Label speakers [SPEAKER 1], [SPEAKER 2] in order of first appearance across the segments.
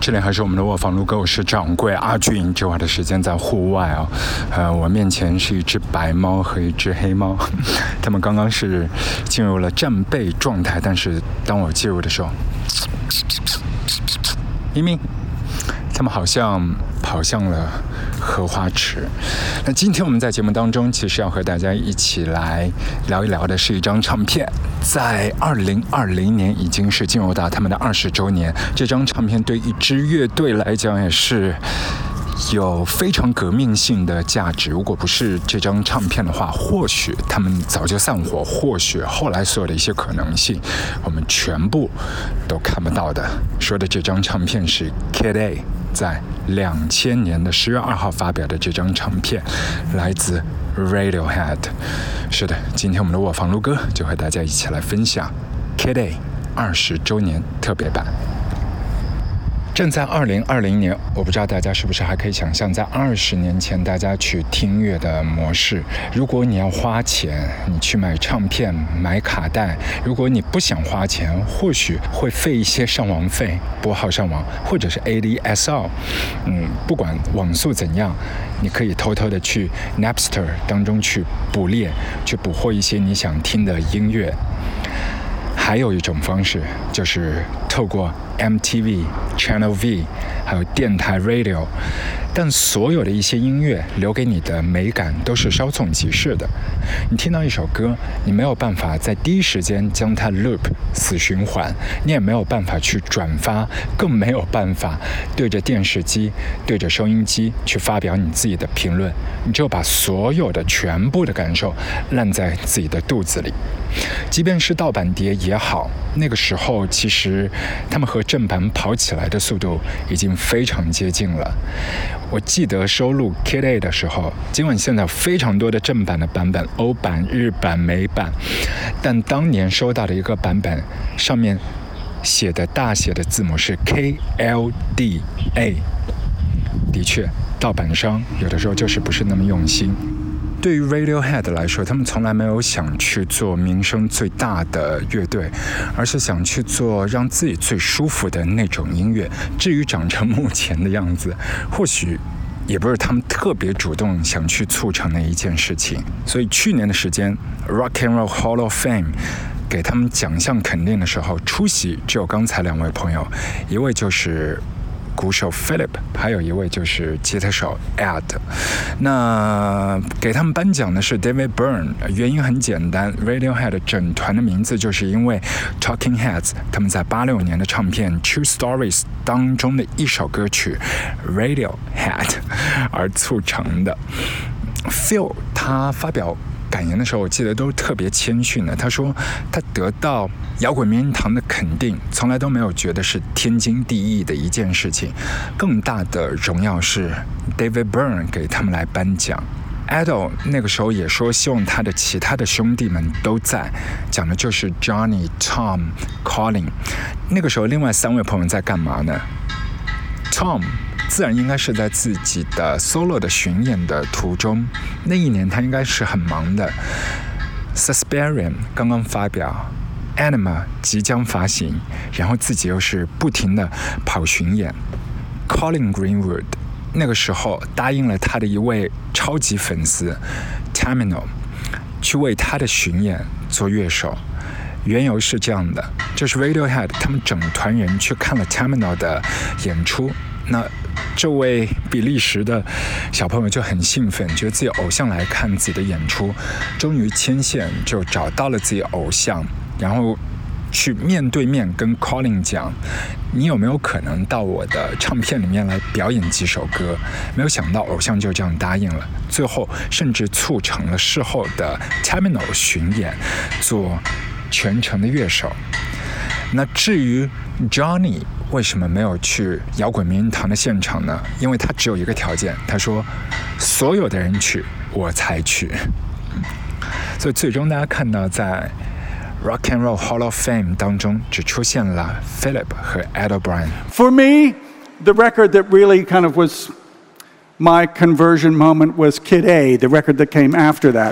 [SPEAKER 1] 这里还是我们的卧房路歌，我是掌柜阿俊。这会儿的时间在户外啊，我面前是一只白猫和一只黑猫，它们刚刚是进入了战备状态，但是当我介入的时候，咪咪，它们好像跑向了荷花池。那今天我们在节目当中其实要和大家一起来聊一聊的是一张唱片，在2020年已经是进入到他们的20周年。这张唱片对一支乐队来讲也是有非常革命性的价值，如果不是这张唱片的话，或许他们早就散伙，或许后来所有的一些可能性我们全部都看不到的。说的这张唱片是 Kid A 在2000年的10月2号发表的这张唱片，来自 Radiohead。 是的，今天我们的卧房路歌就和大家一起来分享 Kid A 20周年特别版。正在2020年，我不知道大家是不是还可以想象在20年前大家去听音乐的模式。如果你要花钱，你去买唱片买卡带，如果你不想花钱，或许会费一些上网费，拨号上网，或者是 ADSL。不管网速怎样，你可以偷偷的去 Napster 当中去捕猎，去捕获一些你想听的音乐。还有一种方式就是透过 MTV、Channel V 还有电台 Radio， 但所有的一些音乐留给你的美感都是稍纵即逝的。你听到一首歌，你没有办法在第一时间将它 loop 死循环，你也没有办法去转发，更没有办法对着电视机对着收音机去发表你自己的评论，你就把所有的全部的感受烂在自己的肚子里。即便是盗版碟也好，那个时候其实他们和正版跑起来的速度已经非常接近了。我记得收录 Kid A 的时候，尽管现在有非常多的正版的版本，欧版、日版、美版，但当年收到的一个版本上面写的大写的字母是 KLDA。 的确，盗版商有的时候就是不是那么用心。对于 Radiohead 来说，他们从来没有想去做名声最大的乐队，而是想去做让自己最舒服的那种音乐。至于长成目前的样子，或许也不是他们特别主动想去促成的一件事情。所以去年的时间 Rock and Roll Hall of Fame 给他们奖项肯定的时候，出席只有刚才两位朋友，一位就是鼓手 Philip， 还有一位就是吉他手 Ed。 那给他们颁奖的是 David Byrne， 原因很简单， Radiohead 整团的名字就是因为 Talking Heads 他们在86年的唱片 True Stories 当中的一首歌曲 Radiohead 而促成的。 Phil 他发表感言的时候，我记得都特别谦逊的。他说他得到摇滚名人堂的肯定，从来都没有觉得是天经地义的一件事情，更大的荣耀是 David Byrne 给他们来颁奖。Ado 那个时候也说希望他的其他的兄弟们都在，讲的就是 Johnny、Tom、Colin。 那个时候另外3位朋友在干嘛呢？ Tom自然应该是在自己的 solo 的巡演的途中，那一年他应该是很忙的。 Suspirium 刚刚发表， Anima 即将发行，然后自己又是不停的跑巡演。 Colin Greenwood 那个时候答应了他的一位超级粉丝 Tamino 去为他的巡演做乐手。缘由是这样的，就是 Radiohead 他们整团人去看了 Tamino 的演出，那这位比利时的小朋友就很兴奋，觉得自己偶像来看自己的演出，终于牵线就找到了自己偶像，然后去面对面跟 Colin 讲，你有没有可能到我的唱片里面来表演几首歌？没有想到偶像就这样答应了，最后甚至促成了事后的 Tamino 巡演，做全程的乐手。那至于 Johnny 为什么没有去摇滚名人堂的现场呢？因为他只有一个条件，他说所有的人去我才去。所以最终大家看到在 Rock and Roll Hall of Fame 当中只出现了 Philip 和 Ed O'Brien。For
[SPEAKER 2] me, the record that really kind of was my conversion moment was Kid A, the record that came after that.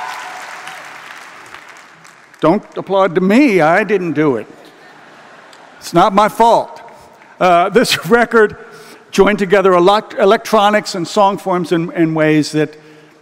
[SPEAKER 2] Don't applaud to me, I didn't do it. It's not my fault. This record joined together electronics and song forms in ways that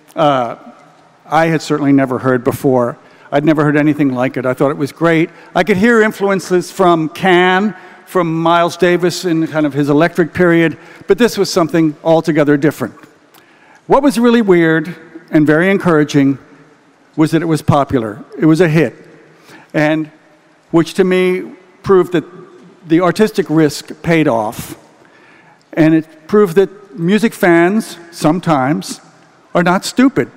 [SPEAKER 2] I had certainly never heard before. I'd never heard anything like it. I thought it was great. I could hear influences from Can, from Miles Davis in kind of his electric period, but this was something altogether different. What was really weird and very encouraging was that it was popular. It was a hit, and which to me proved that the artistic risk paid off, and it proved that music fans sometimes are not stupid.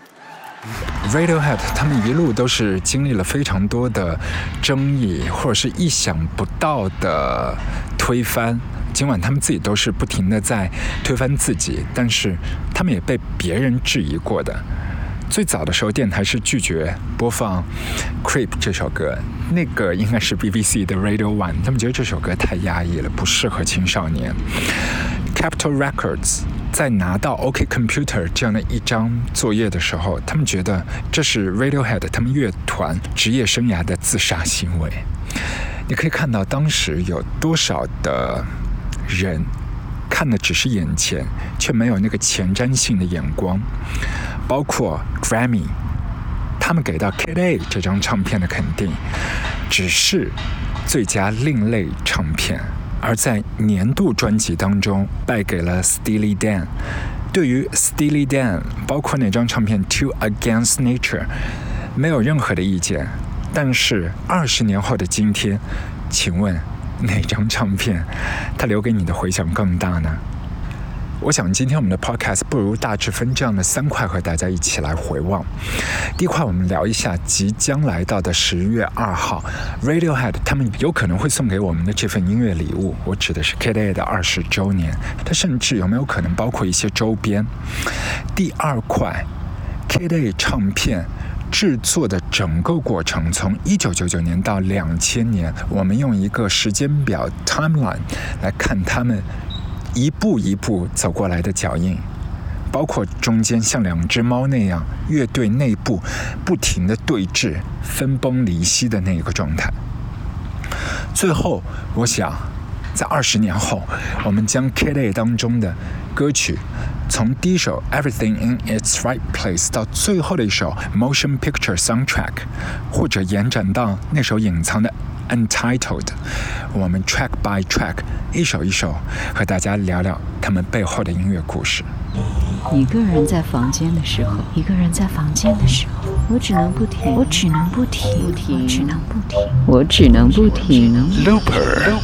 [SPEAKER 1] Radiohead 他们一路都是经历了非常多的争议，或者是意想不到的推翻。尽管他们自己都是不停的在推翻自己，但是他们也被别人质疑过的。最早的时候，电台是拒绝播放《Creep》这首歌，那个应该是 BBC 的 Radio One， 他们觉得这首歌太压抑了，不适合青少年。Capitol Records 在拿到 OK Computer 这样的一张作业的时候，他们觉得这是 Radiohead 他们乐团职业生涯的自杀行为。你可以看到当时有多少的人看的只是眼前，却没有那个前瞻性的眼光。包括 Grammy 他们给到 Kid A 这张唱片的肯定只是最佳另类唱片，而在年度专辑当中败给了 Steely Dan。 对于 Steely Dan 包括那张唱片 Two Against Nature 没有任何的意见，但是20年后的今天，请问哪张唱片它留给你的回响更大呢？我想今天我们的 podcast 不如大致分这样的3块和大家一起来回望。第一块我们聊一下即将来到的10月2号 Radiohead 他们有可能会送给我们的这份音乐礼物，我指的是 Kid A 的20周年，它甚至有没有可能包括一些周边。第2块 Kid A 唱片制作的整个过程，从1999年到2000年，我们用一个时间表 timeline 来看他们一步一步走过来的脚印，包括中间像2只猫那样乐队内部不停的对峙分崩离析的那个状态。最后我想在20年后，我们将 Kid A 当中的歌曲从第一首 Everything in its Right Place 到最后的一首 Motion Picture Soundtrack， 或者延展到那首隐藏的Untitled， 我们 track by track 一首一首和大家聊聊他们背后的音乐故事。
[SPEAKER 3] 一个人在房间的时候，一个人在房间的时候，我只能不停，我只能不停，不停，只能不停，我只能不停。Looper，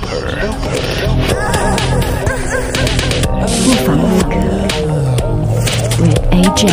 [SPEAKER 3] 不妨录歌 with AJ。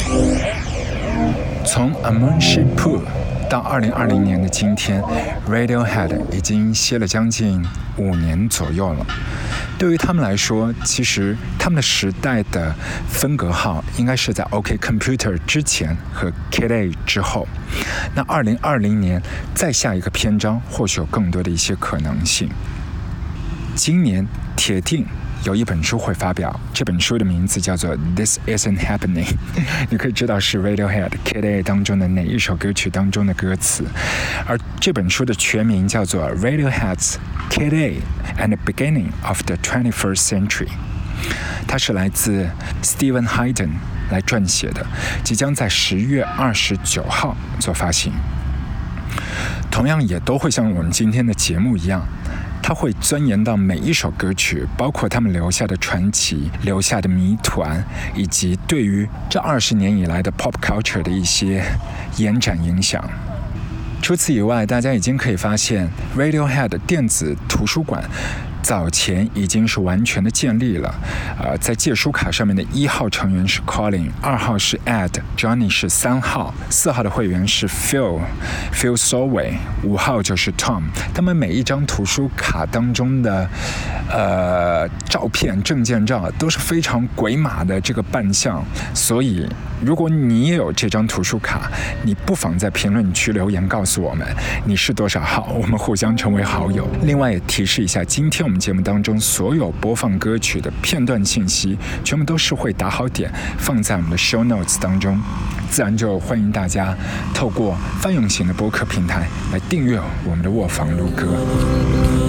[SPEAKER 1] 从 A Moonship Pool 到2020年的今天 Radiohead 已经歇了将近5年左右了。对于他们来说，其实他们的时代的分隔号应该是在 OK Computer 之前和 Kid A 之后。那2020年再下一个篇章，或许有更多的一些可能性。今年铁定有一本书会发表，这本书的名字叫做 This Isn't Happening 你可以知道是 Radiohead Kid A 当中的哪一首歌曲当中的歌词，而这本书的全名叫做 Radiohead's Kid A and the Beginning of the 21st Century， 它是来自 Steven Hayden 来撰写的，即将在10月29号做发行。同样也都会像我们今天的节目一样，他会钻研到每一首歌曲，包括他们留下的传奇、留下的谜团，以及对于这20年以来的 pop culture 的一些延展影响。除此以外，大家已经可以发现 Radiohead 电子图书馆早前已经是完全的建立了。在借书卡上面的1号成员是 Colin， 2号是 Ed，Johnny 是3号，4号的会员是 Phil Solway， 5号就是 Tom。他们每一张图书卡当中的照片、证件照都是非常鬼马的这个扮相，所以如果你也有这张图书卡，你不妨在评论区留言告诉我们你是多少号，我们互相成为好友。另外也提示一下，今天我们节目当中所有播放歌曲的片段信息全部都是会打好点放在我们的 show notes 当中，自然就欢迎大家透过泛用型的播客平台来订阅我们的卧房录歌。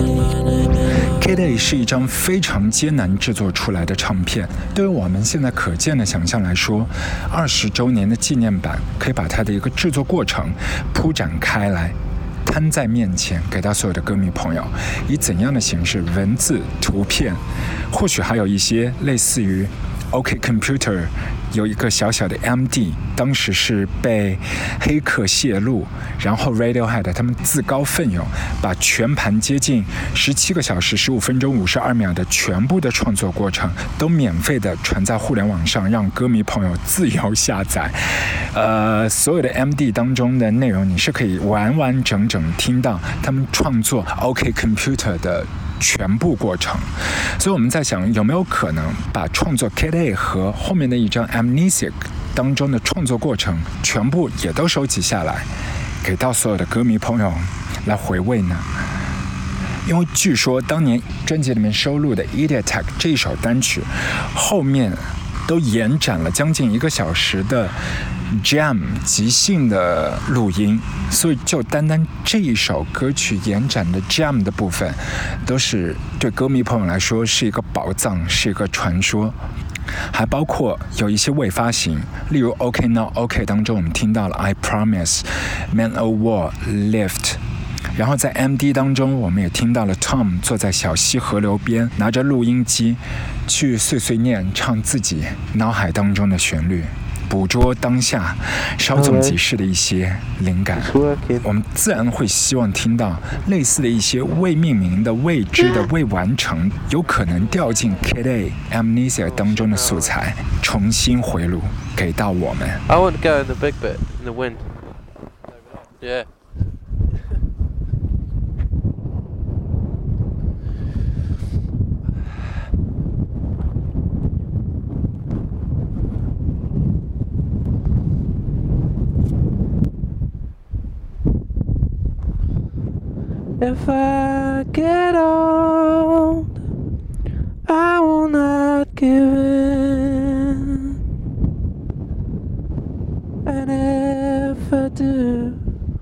[SPEAKER 1] Kid A 是一张非常艰难制作出来的唱片，对于我们现在可见的想象来说，20周年的纪念版可以把它的一个制作过程铺展开来，摊在面前，给到所有的歌迷朋友，以怎样的形式，文字、图片，或许还有一些类似于 OK Computer 有一个小小的 MD， 当时是被黑客泄露，然后 Radiohead 他们自告奋勇，把全盘接近17个小时15分钟52秒的全部的创作过程都免费的传在互联网上，让歌迷朋友自由下载。所有的 MD 当中的内容，你是可以完完整整听到他们创作 OK Computer 的全部过程。所以我们在想，有没有可能把创作 Kid A 和后面的一张 Amnesiac 当中的创作过程全部也都收集下来，给到所有的歌迷朋友来回味呢？因为据说当年专辑里面收录的 Idiot Tech 这一首单曲后面都延展了将近1个小时的 Jam 即兴的录音，所以就单单这一首歌曲延展的 Jam 的部分，都是对歌迷朋友来说是一个宝藏，是一个传说。还包括有一些未发行，例如 OK Now OK 当中我们听到了 I Promise Man O' War Lift， 然后在 MD 当中我们也听到了 Tom 坐在小溪河流边，拿着录音机去碎碎念唱自己脑海当中的旋律，捕捉当下稍纵即逝的一些灵感。我们自然会希望听到类似的一些未命名的、未知的、未完成，有可能掉进 Kid A Amnesia 当中的素材，重新回炉给到我们。
[SPEAKER 4] I want to go in the big bit, in the wind. Yeah. If I get old, I will not give in. And if I do,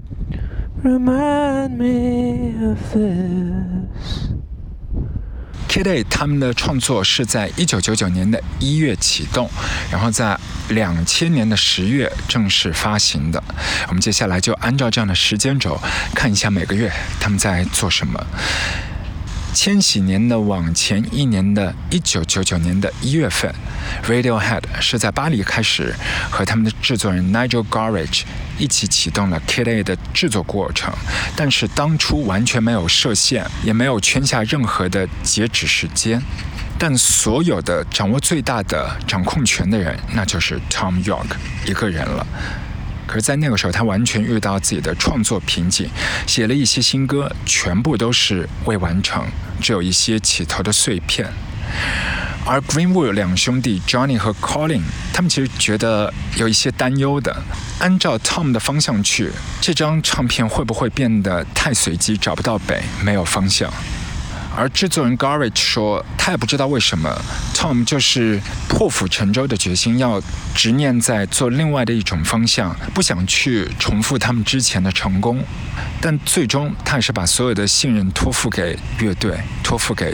[SPEAKER 4] remind me of this.
[SPEAKER 1] Kid A 他们的创作是在1999年的1月启动，然后在2000年的10月正式发行的。我们接下来就按照这样的时间轴看一下每个月他们在做什么。千禧年的往前1年的1999年的1月份， Radiohead 是在巴黎开始和他们的制作人 Nigel Godrich 一起启动了 Kid A 的制作过程，但是当初完全没有设限，也没有圈下任何的截止时间，但所有的掌握最大的掌控权的人，那就是 Tom York 一个人了。可是在那个时候他完全遇到自己的创作瓶颈，写了一些新歌，全部都是未完成，只有一些起头的碎片。而 Greenwood 两兄弟 Johnny 和 Colin 他们其实觉得有一些担忧的，按照 Tom 的方向去，这张唱片会不会变得太随机，找不到北，没有方向。而制作人 Godrich 说，他也不知道为什么 Tom 就是破釜沉舟的决心，要执念在做另外的一种方向，不想去重复他们之前的成功，但最终他也是把所有的信任托付给乐队，托付给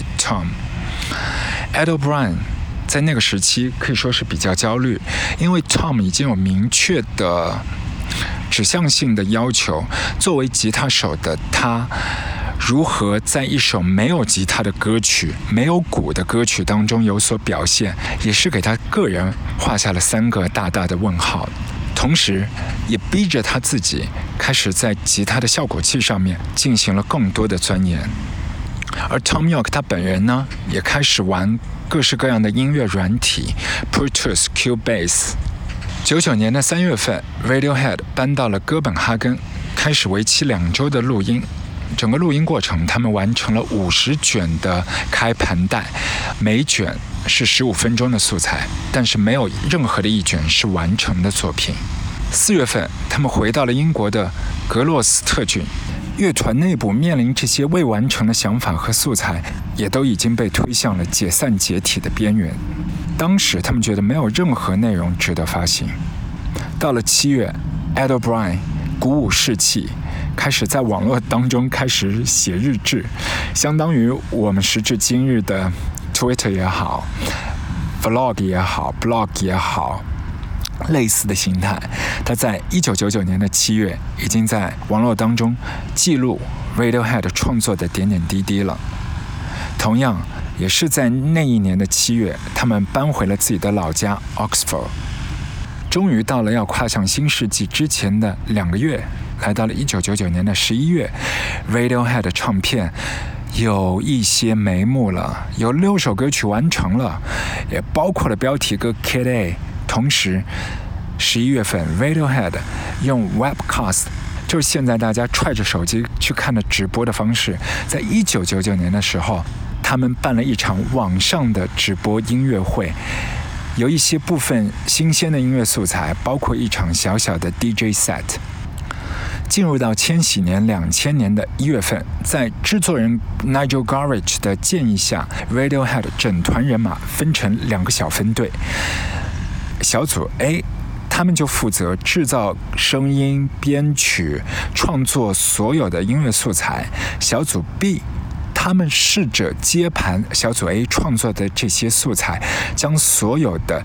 [SPEAKER 1] Tom。Ed O'Brien 在那个时期可以说是比较焦虑，因为 Tom 已经有明确的指向性的要求，作为吉他手的他如何在一首没有吉他的歌曲、没有鼓的歌曲当中有所表现，也是给他个人画下了3个大大的问号，同时也逼着他自己开始在吉他的效果器上面进行了更多的钻研。而 Tom York 他本人呢，也开始玩各式各样的音乐软体 Pro Tools、Cubase。99年的3月份 Radiohead 搬到了哥本哈根，开始为期2周的录音。整个录音过程他们完成了50卷的开盘带，每卷是15分钟的素材，但是没有任何的一卷是完成的作品。4月份他们回到了英国的格洛斯特郡，乐团内部面临这些未完成的想法和素材，也都已经被推向了解散解体的边缘。当时他们觉得没有任何内容值得发行。到了7月 Ed O'Brien 鼓舞士气， 开始在网络当中开始写日志，相当于我们时至今日的 Twitter 也好 Vlog 也好 Blog 也好，类似的形态。他在1999年的7月已经在网络当中记录 Radiohead 创作的点点滴滴了。同样也是在那一年的7月，他们搬回了自己的老家 Oxford。终于到了要跨向新世纪之前的2个月，来到了1999年的11月， Radiohead 的唱片有一些眉目了，有6首歌曲完成了，也包括了标题歌 Kid A。 同时11月份 Radiohead 用 Webcast， 就是现在大家揣着手机去看的直播的方式，在1999年的时候他们办了一场网上的直播音乐会，有一些部分新鲜的音乐素材，包括一场小小的 DJ set。 进入到千禧年2000年的1月份，在制作人 Nigel Godrich 的建议下， Radiohead 整团人马分成2个小分队。小组 A 他们就负责制造声音、编曲、创作所有的音乐素材。小组 B他们试着接盘小组 A 创作的这些素材，将所有的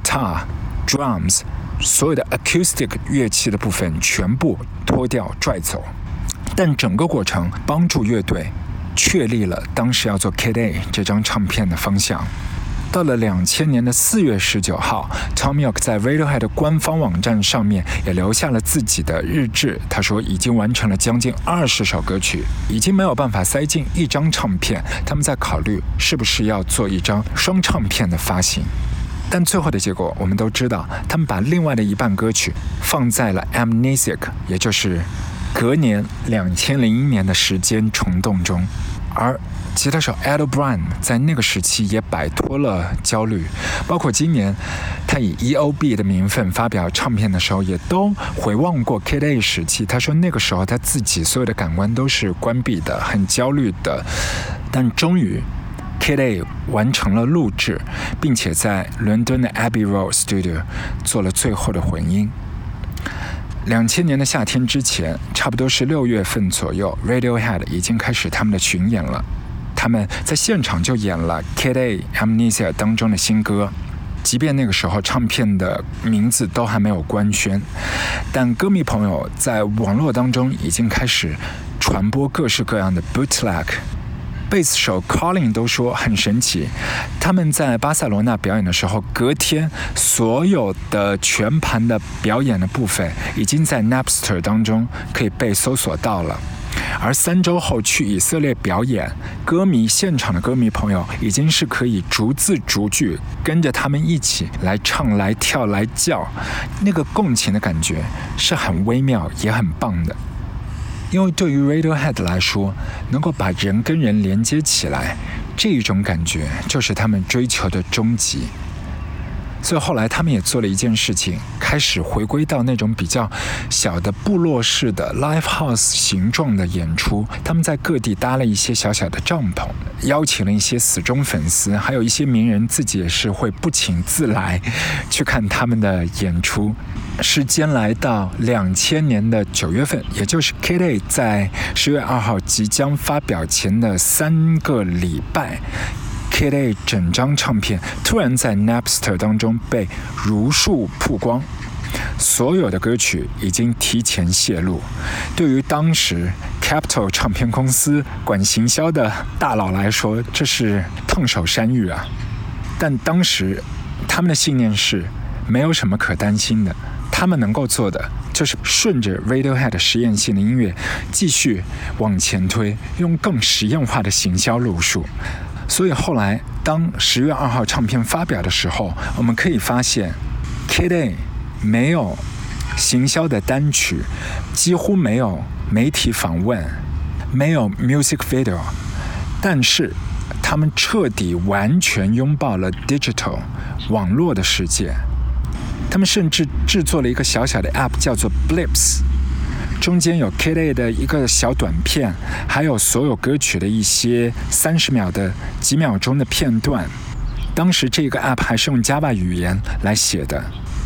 [SPEAKER 1] guitar、drums、所有的 acoustic 乐器的部分全部脱掉拽走。但整个过程帮助乐队确立了当时要做 Kid A 这张唱片的方向。到了2000年的4月19号 Thom Yorke 在 Radiohead 的官方网站上面也留下了自己的日志。他说已经完成了将近20首歌曲，已经没有办法塞进一张唱片，他们在考虑是不是要做一张双唱片的发行。但最后的结果我们都知道，他们把另外的一半歌曲放在了 Amnesiac， 也就是隔年2001年的时间虫洞中。而吉他手 Ed O'Brien 在那个时期也摆脱了焦虑，包括今年他以 EOB 的名分发表唱片的时候，也都回望过 Kid A 时期。他说那个时候他自己所有的感官都是关闭的，很焦虑的。但终于 Kid A 完成了录制，并且在伦敦的 Abbey Road Studio 做了最后的混音。2000年的夏天之前，差不多是6月份左右， Radiohead 已经开始他们的巡演了。他们在现场就演了 Kid A Amnesia 当中的新歌，即便那个时候唱片的名字都还没有官宣，但歌迷朋友在网络当中已经开始传播各式各样的 bootleg。贝斯手 Colin 都说很神奇，他们在巴塞罗那表演的时候，隔天所有的全盘的表演的部分已经在 Napster 当中可以被搜索到了。而3周后去以色列表演，现场的歌迷朋友已经是可以逐字逐句跟着他们一起来唱、来跳、来叫，那个共情的感觉是很微妙也很棒的。因为对于 Radiohead 来说，能够把人跟人连接起来，这一种感觉就是他们追求的终极。所以后来他们也做了一件事情，开始回归到那种比较小的部落式的 live house 形状的演出。他们在各地搭了一些小小的帐篷，邀请了一些死忠粉丝，还有一些名人自己也是会不请自来去看他们的演出。时间来到2000年的9月份，也就是 Kid A 在10月2号即将发表前的3个礼拜， Kid A 整张唱片突然在 Napster 当中被如数曝光，所有的歌曲已经提前泄露。对于当时 Capitol 唱片公司管行销的大佬来说，这是烫手山芋啊！但当时他们的信念是没有什么可担心的，他们能够做的就是顺着 Radiohead 实验性的音乐继续往前推，用更实验化的行销路数。所以后来当10月2号唱片发表的时候，我们可以发现 Kid A 没有行销的单曲，几乎没有媒体访问，没有 music video， 但是他们彻底完全拥抱了 digital 网络的世界。他们甚至制作了一个小小的 app 叫做 Blips， 中间有 Kid A 的一个小短片，还有所有歌曲的一些30秒的几秒钟的片段。当时这个 app 还是用 Java 语言来写的。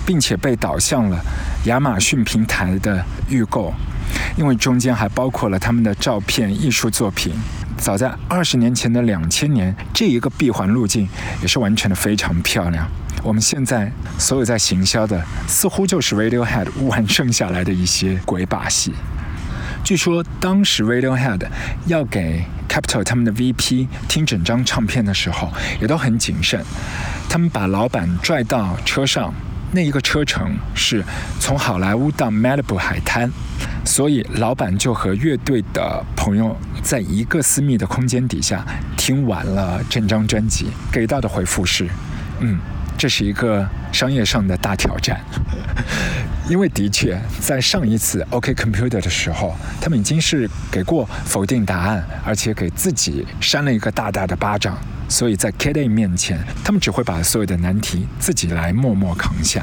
[SPEAKER 1] 并且被导向了亚马逊平台的预购，因为中间还包括了他们的照片艺术作品。早在20年前的2000年，这一个闭环路径也是完成的非常漂亮。我们现在所有在行销的，似乎就是 Radiohead 完剩下来的一些鬼把戏。据说当时 Radiohead 要给 Capitol 他们的 VP 听整张唱片的时候，也都很谨慎。他们把老板拽到车上，那一个车程是从好莱坞到 Malibu 海滩，所以老板就和乐队的朋友在一个私密的空间底下听完了整张专辑，给到的回复是这是一个商业上的大挑战。因为的确在上一次 OK Computer 的时候，他们已经是给过否定答案，而且给自己扇了一个大大的巴掌，所以在 Kid A 面前，他们只会把所有的难题自己来默默扛下。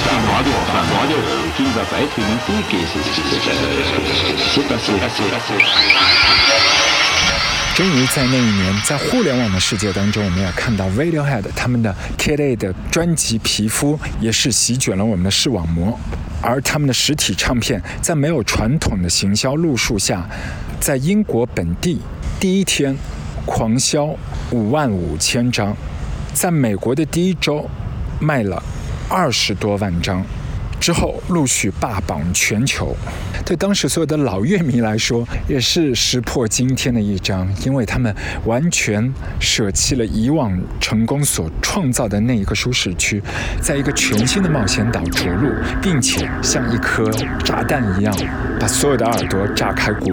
[SPEAKER 1] 终于在那一年，在互联网的世界当中，我们也看到 Radiohead 他们的 Kid A 的专辑皮肤也是席卷了我们的视网膜，而他们的实体唱片在没有传统的行销路数下，在英国本地第一天狂销55000张，在美国的第一周卖了20多万张，之后陆续霸榜全球。对当时所有的老乐迷来说，也是石破惊天的一张，因为他们完全舍弃了以往成功所创造的那一个舒适区，在一个全新的冒险岛着陆，并且像一颗炸弹一样，把所有的耳朵炸开锅。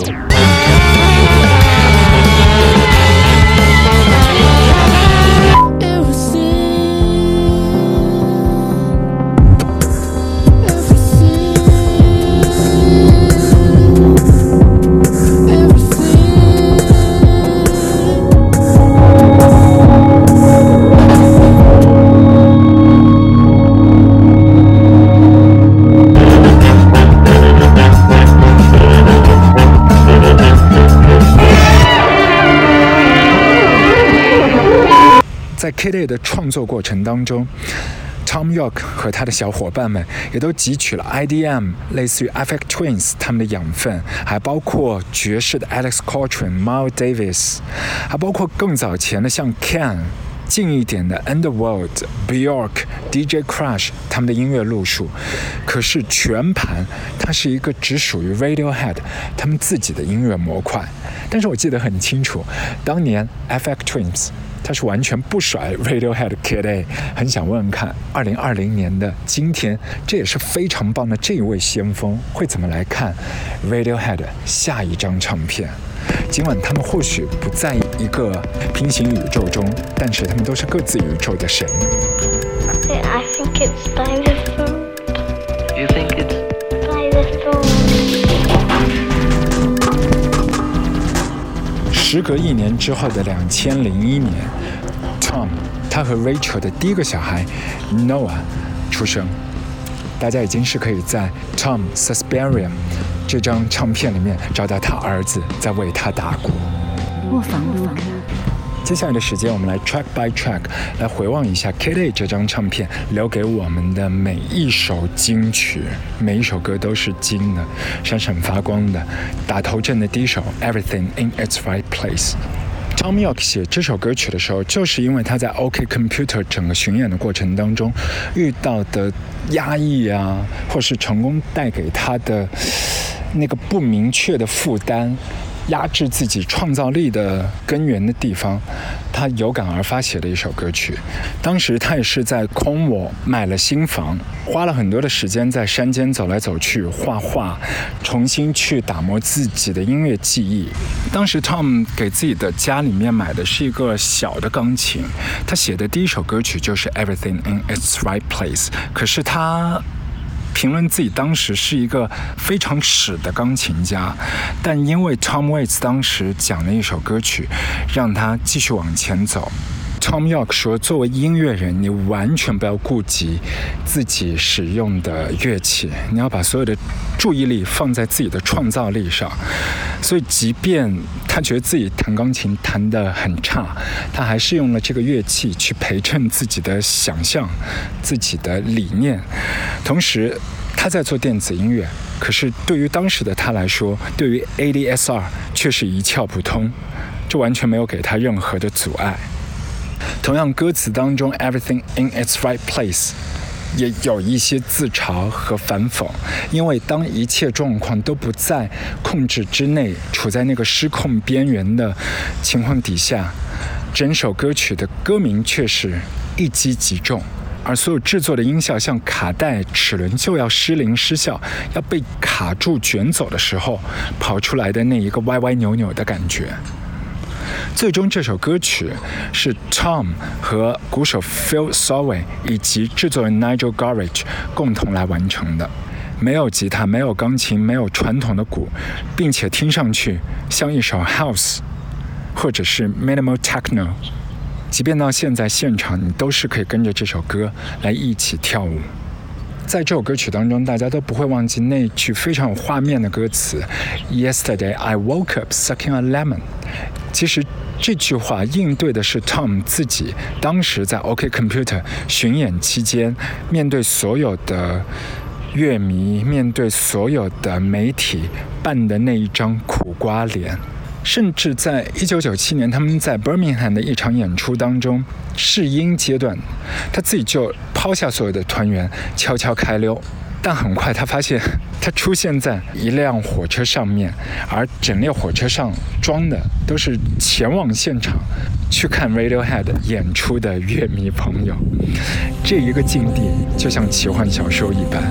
[SPEAKER 1] 在 Kid A 的创作过程当中， Thom Yorke 和他的小伙伴们也都汲取了 IDM 类似于 Aphex Twins 他们的养分，还包括爵士的 Alex Coltrane、Miles Davis， 还包括更早前的像 Can， 近一点的 Underworld、Bjork、DJ Crush 他们的音乐路数。可是全盘它是一个只属于 Radiohead 他们自己的音乐模块。但是我记得很清楚，当年 Aphex Twins他是完全不甩 Radiohead Kid A。 很想问问看2020年的今天，这也是非常棒的这一位先锋会怎么来看 Radiohead 下一张唱片。尽管他们或许不在一个平行宇宙中，但是他们都是各自宇宙的神。
[SPEAKER 5] I think it's by the food.
[SPEAKER 4] You think it's
[SPEAKER 5] By the food.
[SPEAKER 1] 时隔1年之后的2001年 ，Tom 他和 Rachel 的第一个小孩 Noah 出生。大家已经是可以在 Tom Suspirium 这张唱片里面找到他儿子在为他打鼓。
[SPEAKER 3] 卧房录歌。
[SPEAKER 1] 接下来的时间，我们来 track by track 来回望一下 Kid A 这张唱片留给我们的每一首金曲，每一首歌都是金的，闪闪发光的。打头阵的第一首 Everything in its right place。Thom Yorke 写这首歌曲的时候，就是因为他在 OK Computer 整个巡演的过程当中遇到的压抑啊，或是成功带给他的那个不明确的负担，压制自己创造力的根源的地方，他有感而发写的一首歌曲。当时他也是在空我买了新房，花了很多的时间在山间走来走去画画，重新去打磨自己的音乐技艺。当时 Tom 给自己的家里面买的是一个小的钢琴，他写的第一首歌曲就是 Everything in its right place。 可是他评论自己当时是一个非常屎的钢琴家，但因为 Tom Waits 当时讲了一首歌曲，让他继续往前走。 Thom Yorke 说，作为音乐人，你完全不要顾及自己使用的乐器，你要把所有的注意力放在自己的创造力上。所以即便他觉得自己弹钢琴弹得很差，他还是用了这个乐器去陪衬自己的想象、自己的理念。同时他在做电子音乐，可是对于当时的他来说，对于 ADSR 却是一窍不通，这完全没有给他任何的阻碍。同样，歌词当中 Everything in its right place 也有一些自嘲和反讽，因为当一切状况都不在控制之内，处在那个失控边缘的情况底下，整首歌曲的歌名却是一击即中，而所有制作的音效像卡带齿轮就要失灵失效，要被卡住卷走的时候跑出来的那一个歪歪扭扭的感觉。最终这首歌曲是 Tom 和鼓手 Phil Saway 以及制作人 Nigel Godrich 共同来完成的，没有吉他，没有钢琴，没有传统的鼓，并且听上去像一首 House 或者是 Minimal Techno， 即便到现在现场你都是可以跟着这首歌来一起跳舞。在这首歌曲当中，大家都不会忘记那句非常有画面的歌词 Yesterday I woke up sucking a lemon。 其实这句话应对的是 Tom 自己当时在 OK Computer 巡演期间，面对所有的乐迷，面对所有的媒体扮的那一张苦瓜脸。甚至在1997年他们在 Birmingham 的一场演出当中，试音阶段他自己就抛下所有的团员悄悄开溜，但很快他发现他出现在一辆火车上面，而整列火车上装的都是前往现场去看 Radiohead 演出的乐迷朋友。这一个境地就像奇幻小说一般。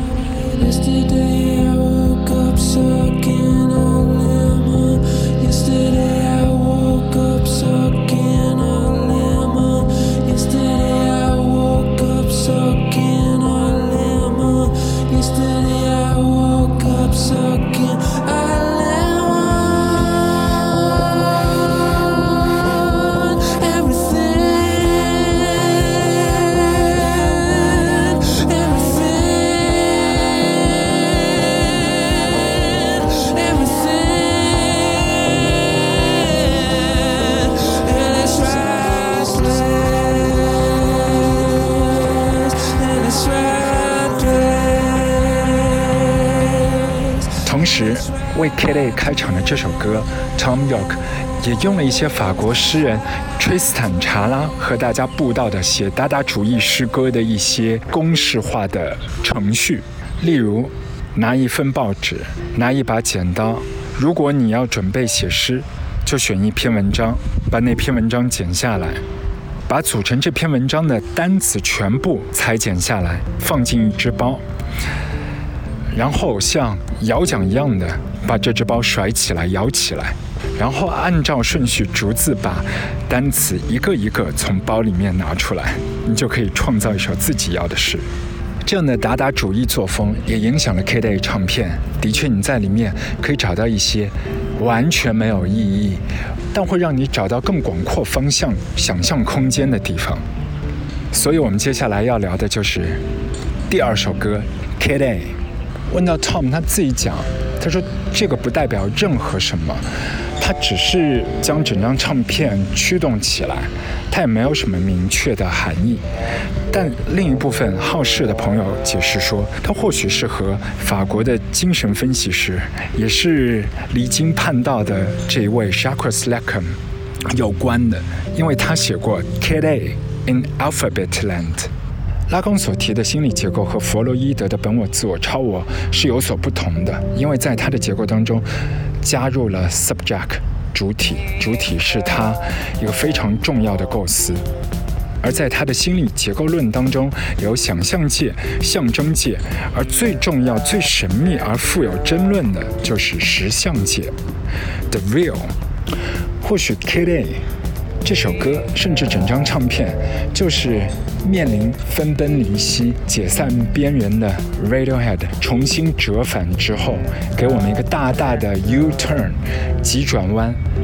[SPEAKER 1] 同时为 Kid A 开场的这首歌 Thom Yorke 也用了一些法国诗人崔斯坦查拉和大家布道的写达达主义诗歌的一些公式化的程序，例如拿一份报纸，拿一把剪刀，如果你要准备写诗，就选一篇文章，把那篇文章剪下来，把组成这篇文章的单词全部裁剪下来，放进一只包，然后像摇桨一样的把这只包甩起来摇起来，然后按照顺序逐字把单词一个一个从包里面拿出来，你就可以创造一首自己要的诗。这样的达达主义作风也影响了 Kid A 唱片，的确你在里面可以找到一些完全没有意义，但会让你找到更广阔方向想象空间的地方。所以我们接下来要聊的就是第二首歌 Kid A。 问到 Tom 他自己讲，他说这个不代表任何什么，他只是将整张唱片驱动起来，他也没有什么明确的含义。但另一部分好事的朋友解释说，他或许是和法国的精神分析师，也是离经叛道的这一位 Jacques Lacan 有关的，因为他写过 Kid A in Alphabet Land。拉康所提的心理结构和弗洛伊德的本我、自我、超我是有所不同的，因为在他的结构当中加入了 subject 主体，主体是他一个非常重要的构思。而在他的心理结构论当中，有想象界、象征界，而最重要、最神秘而富有争论的就是实相界 ，the real。或许 Kid A 这首歌，甚至整张唱片，就是面临分崩离析、解散边缘的 Radiohead 重新折返之后，给我们一个大大的 U-turn 急转弯，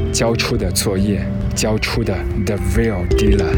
[SPEAKER 1] 交出的作业，交出的 The Real Dealer。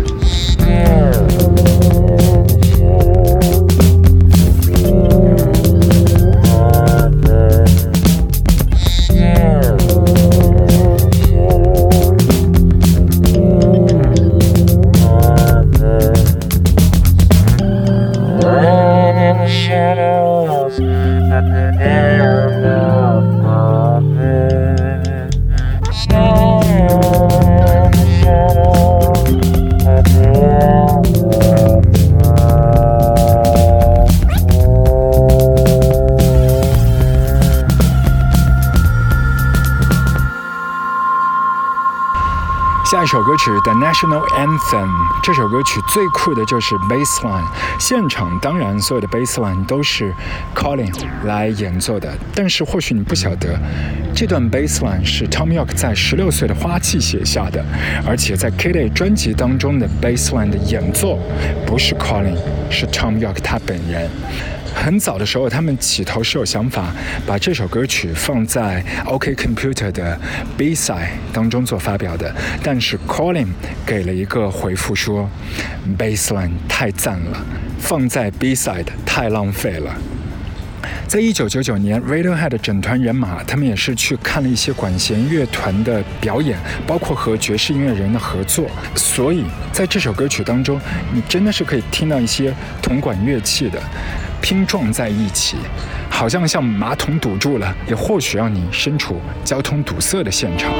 [SPEAKER 1] 下一首歌曲 The National Anthem， 这首歌曲最酷的就是 bassline， 现场当然所有的 bassline 都是 Colin 来演奏的，但是或许你不晓得，这段 bassline 是 Thom Yorke 在16岁的花季写下的，而且在 Kid A 专辑当中的 bassline 的演奏不是 Colin， 是 Thom Yorke 他本人。很早的时候，他们起头是有想法把这首歌曲放在 OK Computer 的 B-side 当中做发表的，但是 Colin 给了一个回复说 Bassline 太赞了，放在 B-side 太浪费了。在1999年 Radiohead 的整团人马，他们也是去看了一些管弦乐团的表演，包括和爵士音乐人的合作，所以在这首歌曲当中，你真的是可以听到一些铜管乐器的拼撞在一起，好像马桶堵住了，也或许让你身处交通堵塞的现场。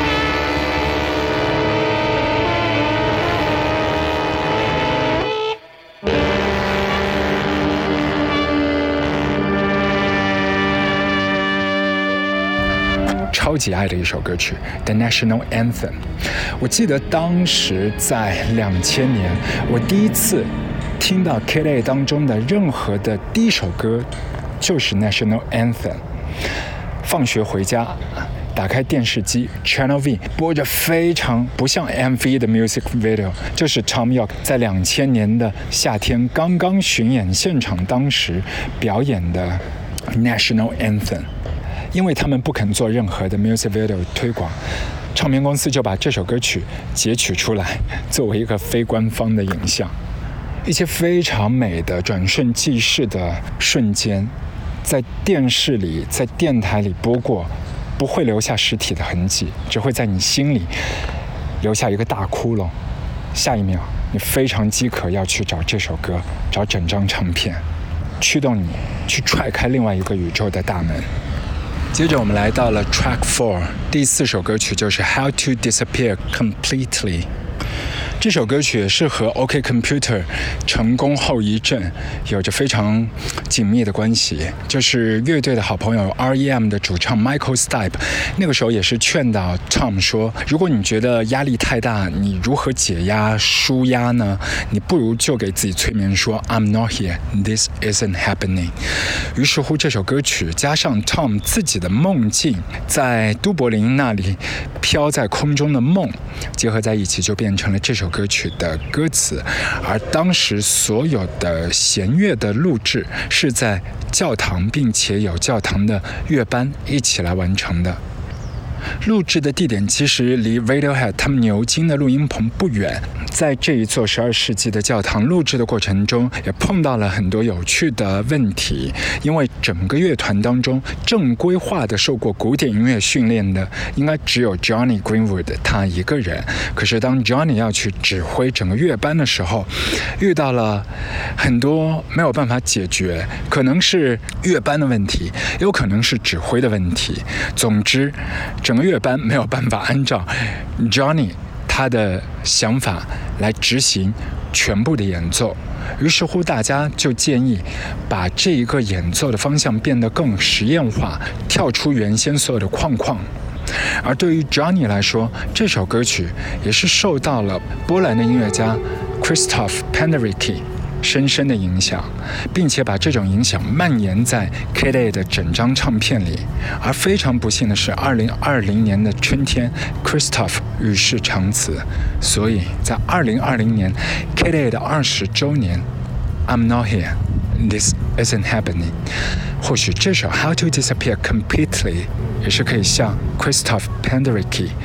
[SPEAKER 1] 超级爱的一首歌曲 The National Anthem。 我记得当时在2000年，我第一次听到 Kid A 当中的任何的第一首歌就是 National Anthem。 放学回家打开电视机 Channel V 播着非常不像 MV 的 music video， 就是 Thom Yorke 在2000年的夏天刚刚巡演现场当时表演的 National Anthem。 因为他们不肯做任何的 music video 推广，唱片公司就把这首歌曲截取出来作为一个非官方的影像。一些非常美的转瞬即逝的瞬间，在电视里在电台里播过，不会留下实体的痕迹，只会在你心里留下一个大窟窿。下一秒你非常饥渴要去找这首歌，找整张唱片，驱动你去踹开另外一个宇宙的大门。接着我们来到了 Track 4， 第4首歌曲就是 How to Disappear Completely。 这首歌曲也是和 OK Computer 成功后遗症有着非常紧密的关系，就是乐队的好朋友 R.E.M 的主唱 Michael Stipe 那个时候也是劝导 Tom 说，如果你觉得压力太大，你如何解压舒压呢？你不如就给自己催眠说 I'm not here, this isn't happening。 于是乎这首歌曲加上 Tom 自己的梦境，在都柏林那里飘在空中的梦结合在一起，就变成了这首歌曲的歌词。而当时所有的弦乐的录制是在教堂，并且有教堂的乐班一起来完成的。录制的地点其实离 Radiohead 他们牛津的录音棚不远，在这一座12世纪的教堂录制的过程中，也碰到了很多有趣的问题。因为整个乐团当中正规化的受过古典音乐训练的应该只有 Johnny Greenwood 他一个人，可是当 Johnny 要去指挥整个乐班的时候，遇到了很多没有办法解决，可能是乐班的问题，也有可能是指挥的问题。总之整个乐班没有办法按照 Johnny 他的想法来执行全部的演奏，于是乎大家就建议把这一个演奏的方向变得更实验化，跳出原先所有的框框。而对于 Johnny 来说，这首歌曲也是受到了波兰的音乐家 Krzysztof Penderecki 深深的影响，并且把这种影响蔓延在 Kid A 的整张唱片里。而非常不幸的是2020年的春天 Krzysztof 与世长辞，所以在2020年 Kid A 的20周年 I'm not here, this isn't happening， 或许这首 How to Disappear Completely 也是可以向 Krzysztof Penderecki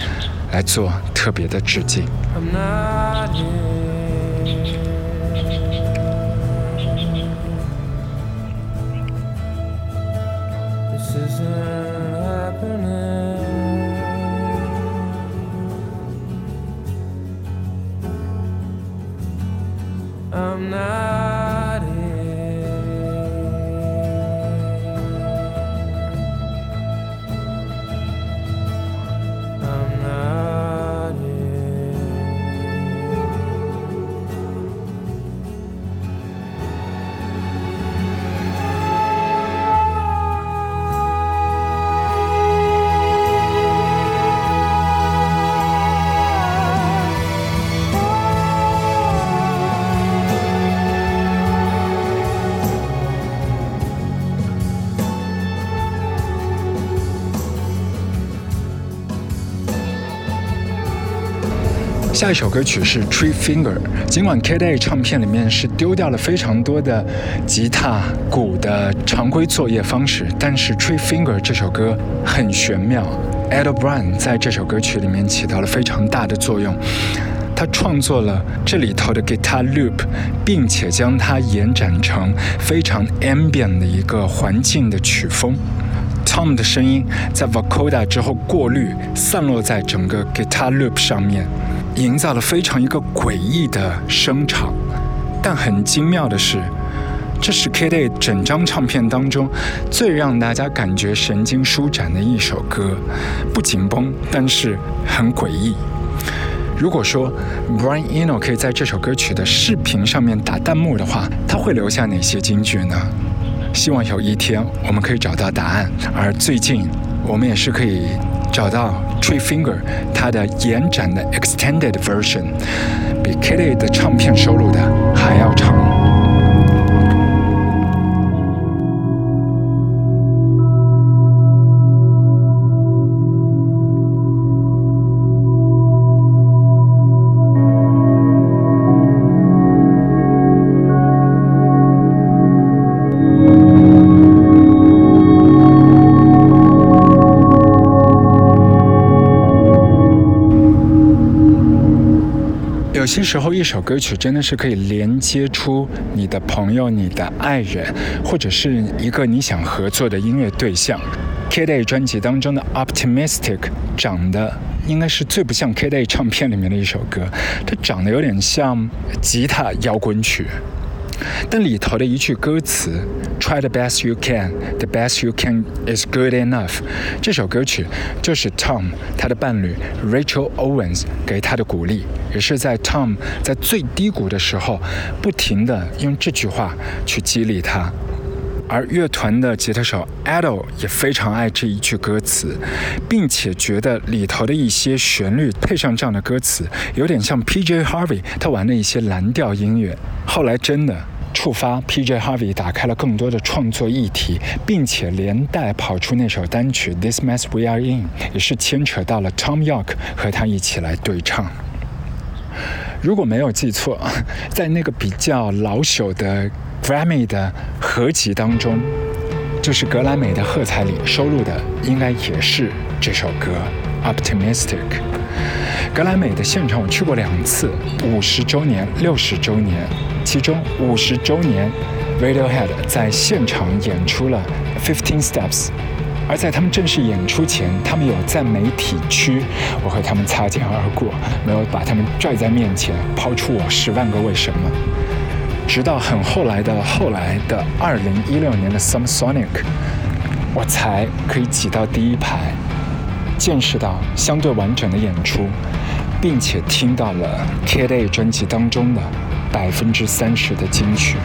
[SPEAKER 1] 来做特别的致敬。
[SPEAKER 6] I'm not here. This isn't happening. I'm not here. I'm not here.
[SPEAKER 1] 下一首歌曲是 Tree Finger。尽管 Kid A 唱片里面是丢掉了非常多的吉他、鼓的常规作业方式，但是 Tree Finger 这首歌很玄妙。Ed O'Brien 在这首歌曲里面起到了非常大的作用。他创作了这里头的 guitar loop， 并且将它延展成非常 ambient 的一个环境的曲风。Tom 的声音在 vocoder 之后过滤，散落在整个 guitar loop 上面，营造了非常一个诡异的声场。但很精妙的是，这是 Kid A 整张唱片当中最让大家感觉神经舒展的一首歌，不紧绷，但是很诡异。如果说 Brian Eno 可以在这首歌曲的视频上面打弹幕的话，他会留下哪些金句呢？希望有一天我们可以找到答案。而最近我们也是可以找到 Tree Finger 它的延展的 extended version， 比 Kid A 的唱片收录的还要长。有些时候一首歌曲真的是可以连接出你的朋友、你的爱人，或者是一个你想合作的音乐对象。Kid A 专辑当中的 Optimistic 长得应该是最不像 Kid A 唱片里面的一首歌，它长得有点像吉他摇滚曲。但里头的一句歌词 Try the best you can, the best you can is good enough， 这首歌曲就是 Tom 他的伴侣 Rachel Owens 给他的鼓励，也是在 Tom 在最低谷的时候不停地用这句话去激励他。而乐团的吉他手 Ado 也非常爱这一句歌词，并且觉得里头的一些旋律配上这样的歌词有点像 PJ Harvey 他玩的一些蓝调音乐。后来真的触发 PJ Harvey 打开了更多的创作议题，并且连带跑出那首单曲 This Mess We Are In， 也是牵扯到了 Tom York 和他一起来对唱。如果没有记错，在那个比较老朽的 Grammy 的合集当中，就是格莱美的喝彩里收录的应该也是这首歌 Optimistic。 格莱美的现场我去过2次，50周年、60周年，其中50周年 Radiohead 在现场演出了 15 Steps， 而在他们正式演出前，他们有在媒体区，我和他们擦肩而过，没有把他们拽在面前抛出我10万个为什么。直到很后来的2016年的 Summer Sonic， 我才可以挤到第一排，见识到相对完整的演出，并且听到了 Kid A 专辑当中的30%的金曲。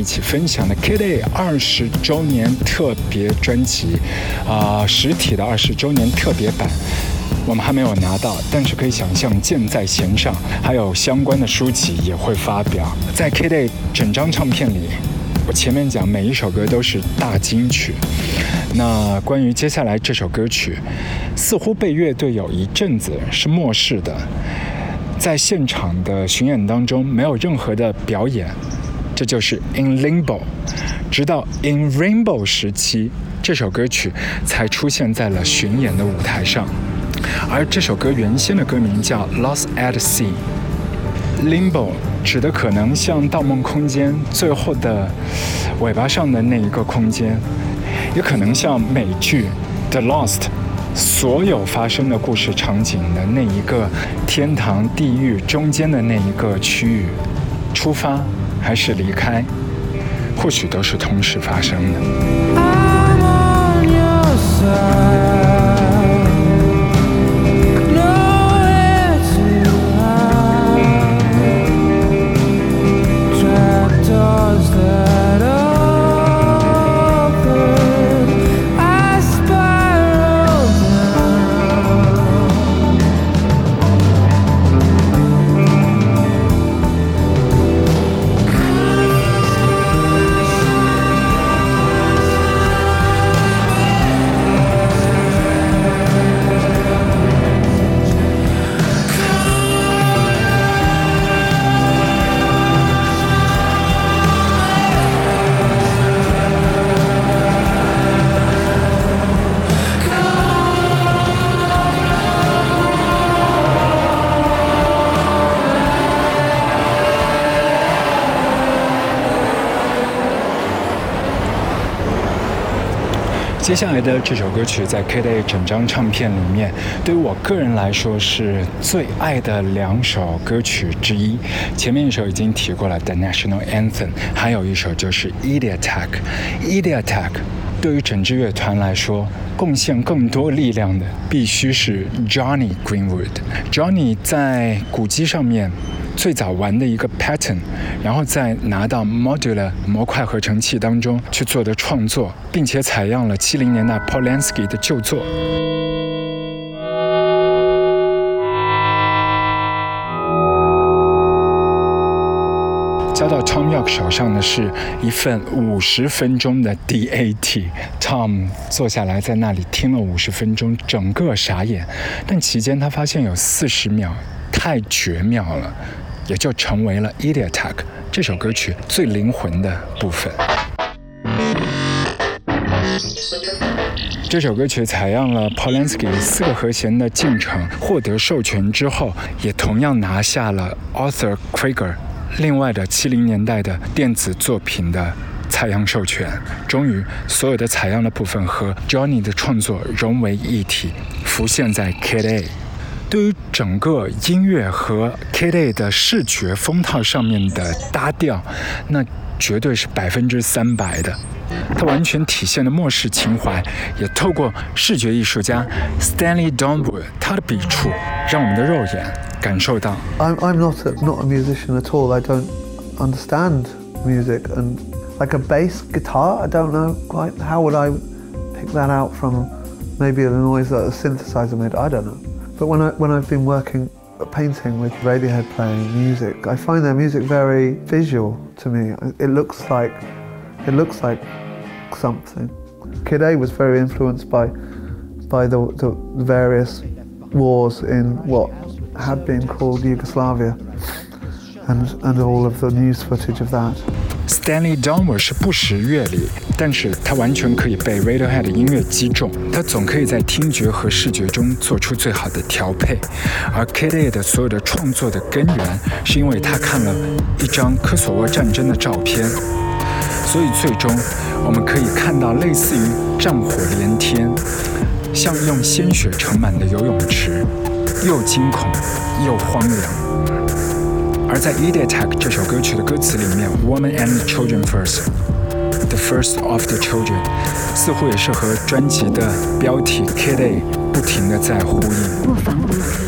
[SPEAKER 1] 起分享的 Kid A 20周年特别专辑，实体的20周年特别版。我们还没有拿到，但是可以想象箭在弦上，还有相关的书籍也会发表。在 Kid A 整张唱片里，我前面讲每一首歌都是大金曲。那关于接下来这首歌曲，似乎被乐队有一阵子是漠视的，在现场的巡演当中没有任何的表演，这就是 In Limbo。直到 In Rainbow 时期，这首歌曲才出现在了巡演的舞台上。而这首歌原先的歌名叫 Lost at Sea。Limbo 指的可能像《盗梦空间》最后的尾巴上的那一个空间，也可能像美剧 The Lost 所有发生的故事场景的那一个天堂地狱中间的那一个区域，出发还是离开，或许都是同时发生的。
[SPEAKER 6] I'm on your side. Nowhere to hide. Trapdoors that open. I spiral down.
[SPEAKER 1] 接下来的这首歌曲在 Kid A 整张唱片里面，对于我个人来说是最爱的2首歌曲之一。前面一首已经提过了 The National Anthem， 还有一首就是 Eddie Attack。Eddie Attack 对于整支乐团来说，贡献更多力量的必须是 Johnny Greenwood。Johnny 在鼓机上面最早玩的一个 pattern， 然后再拿到 Modular 模块合成器当中去做的创作，并且采样了70年代 Polanski 的旧作。交到 Tom York 手上的是一份50分钟的 DAT。Tom 坐下来在那里听了50分钟，整个傻眼。但期间他发现有40秒太绝妙了，也就成为了 Eddie Attack 这首歌曲最灵魂的部分。这首歌曲采样了 Polanski 4个和弦的进程，获得授权之后，也同样拿下了 Arthur Krieger 另外的70年代的电子作品的采样授权。终于，所有的采样的部分和 Johnny 的创作融为一体，浮现在 Kid A。对于整个音乐和 Kid A 的视觉风套上面的搭调，那绝对是300%的。它完全体现了末世情怀，也透过视觉艺术家 Stanley Donwood 他的笔触，让我们的肉眼感受到。
[SPEAKER 7] I'm not a musician at all. I don't understand music, and like a bass guitar, I don't know quite how would I pick that out from maybe the noise that a synthesizer made. I don't know. But when I've been working painting with Radiohead playing music, I find their music very visual to me. It looks like something. Kid A was very influenced by the various wars in what had been called Yugoslavia, and all of the news footage of that.
[SPEAKER 1] Stanley Donwood 是不识乐理，但是他完全可以被 Radiohead 的音乐击中，他总可以在听觉和视觉中做出最好的调配。而 Kid A 的所有的创作的根源，是因为他看了一张科索沃战争的照片，所以最终我们可以看到类似于战火连天，像用鲜血盛满的游泳池，又惊恐又荒凉。而在 Eddie Attack 这首歌曲的歌词里面 Woman and Children First The First of the Children 似乎也是和专辑的标题 Kid A 不停地在呼应。
[SPEAKER 3] 不妨不可。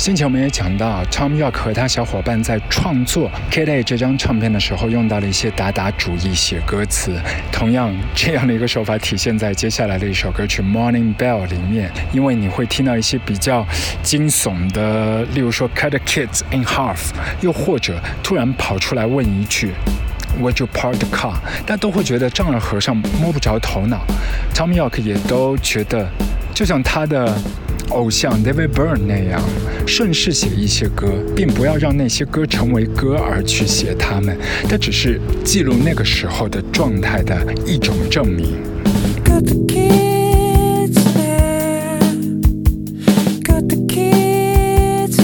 [SPEAKER 1] 先前我们也讲到 Thom Yorke 和他小伙伴在创作 Kid A 这张唱片的时候用到了一些达达主义写歌词，同样这样的一个手法体现在接下来的一首歌曲 Morning Bell 里面，因为你会听到一些比较惊悚的，例如说 Cut the kids in half， 又或者突然跑出来问一句Would you park the car？ 大家都会觉得丈二和尚摸不着头脑。Thom Yorke 也都觉得，就像他的偶像 David Byrne 那样，顺势写一些歌，并不要让那些歌成为歌而去写它们，它只是记录那个时候的状态的一种证明。
[SPEAKER 6] Got the kids there. Got the kids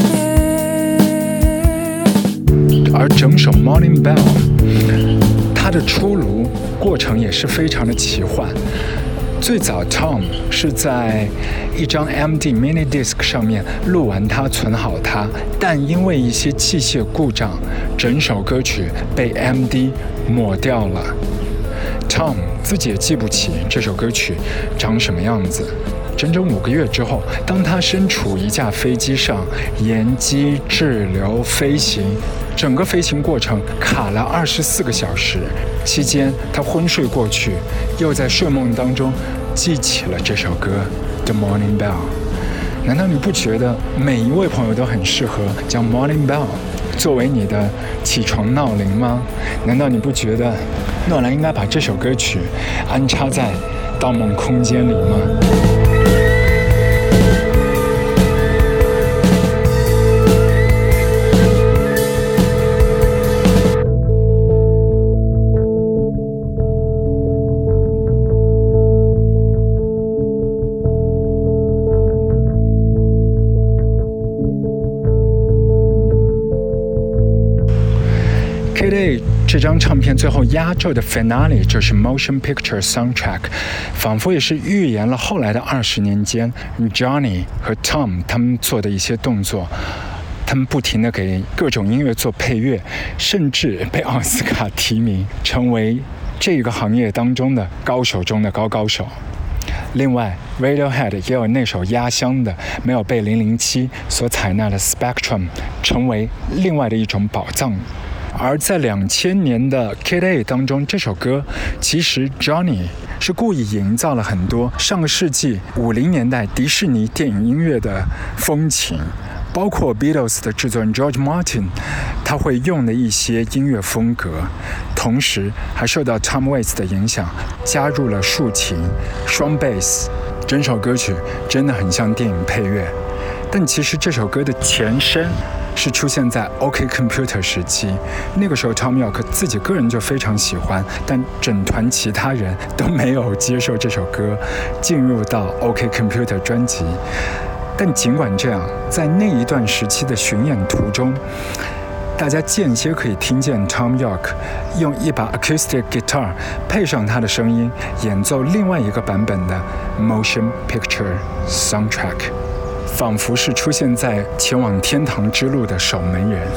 [SPEAKER 6] there.
[SPEAKER 1] 而整首 Morning Bell 它的出炉过程也是非常的奇幻。最早 Thom 是在一张 MD mini disc 上面录完它，存好它，但因为一些器械故障，整首歌曲被 MD 抹掉了。Thom 自己也记不起这首歌曲长什么样子。整整5个月之后，当他身处一架飞机上，延机滞留飞行，整个飞行过程卡了24个小时，期间他昏睡过去，又在睡梦当中记起了这首歌 The Morning Bell。 难道你不觉得每一位朋友都很适合将 Morning Bell 作为你的起床闹铃吗？难道你不觉得诺兰应该把这首歌曲安插在《盗梦空间》里吗？Kid A 这张唱片最后压轴的 finale 就是 Motion Picture Soundtrack， 仿佛也是预言了后来的20年间 Johnny 和 Thom 他们做的一些动作。他们不停地给各种音乐做配乐，甚至被奥斯卡提名，成为这个行业当中的高手中的高手。另外 Radiohead 也有那首压箱的没有被007所采纳的 Spectrum， 成为另外的一种宝藏。而在2000年的 Kid A 当中，这首歌其实 Johnny 是故意营造了很多上个世纪50年代迪士尼电影音乐的风情，包括 Beatles 的制作人 George Martin 他会用的一些音乐风格，同时还受到 Tom Waits 的影响，加入了竖琴、双贝斯，整首歌曲真的很像电影配乐。但其实这首歌的前身是出现在 OK Computer 时期，那个时候 Thom Yorke 自己个人就非常喜欢，但整团其他人都没有接受这首歌进入到 OK Computer 专辑。但尽管这样，在那一段时期的巡演途中，大家间歇可以听见 Thom Yorke 用一把 acoustic guitar 配上他的声音，演奏另外一个版本的 Motion Picture Soundtrack， 仿佛是出现在前往天堂之路的守门人。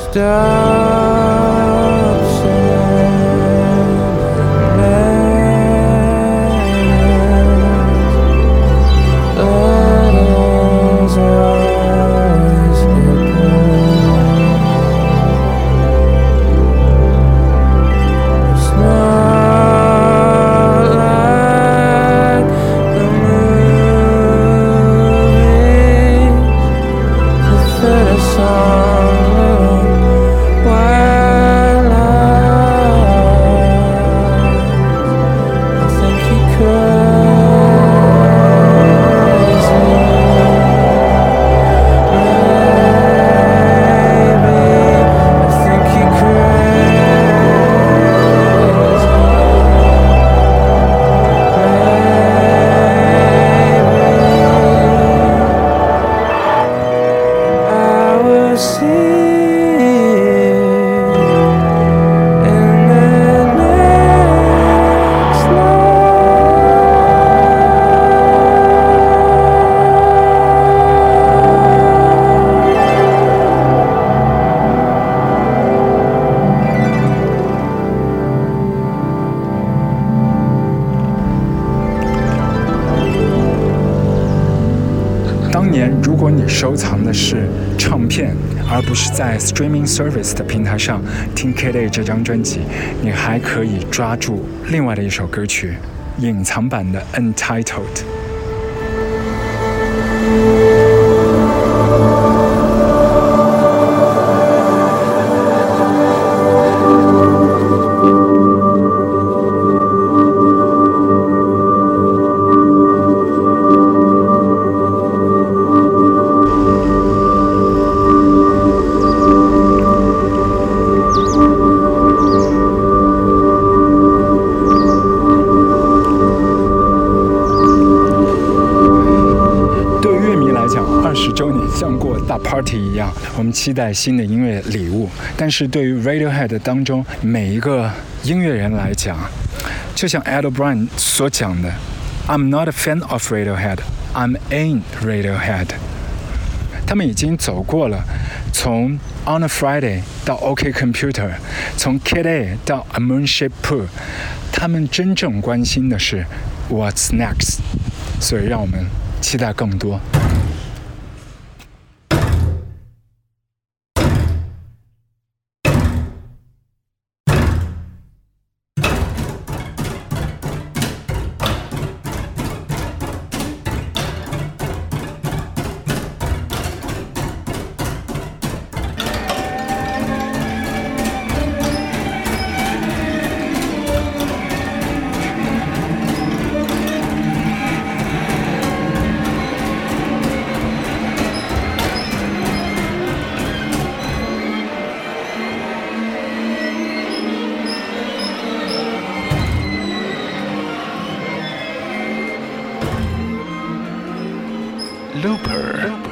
[SPEAKER 1] 当年如果你收藏的是唱片，而不是在 streaming service 的平台上听 Kid A 这张专辑，你还可以抓住另外的一首歌曲，隐藏版的 Untitled。像过大 party 一样，我们期待新的音乐礼物。但是对于 Radiohead 当中每一个音乐人来讲，就像 Ed O'Brien 所讲的 ，I'm not a fan of Radiohead, I'm in Radiohead。他们已经走过了从 On a Friday 到 OK Computer， 从 Kid A 到 A Moonshaped Pool， 他们真正关心的是 What's next。所以让我们期待更多。Looper.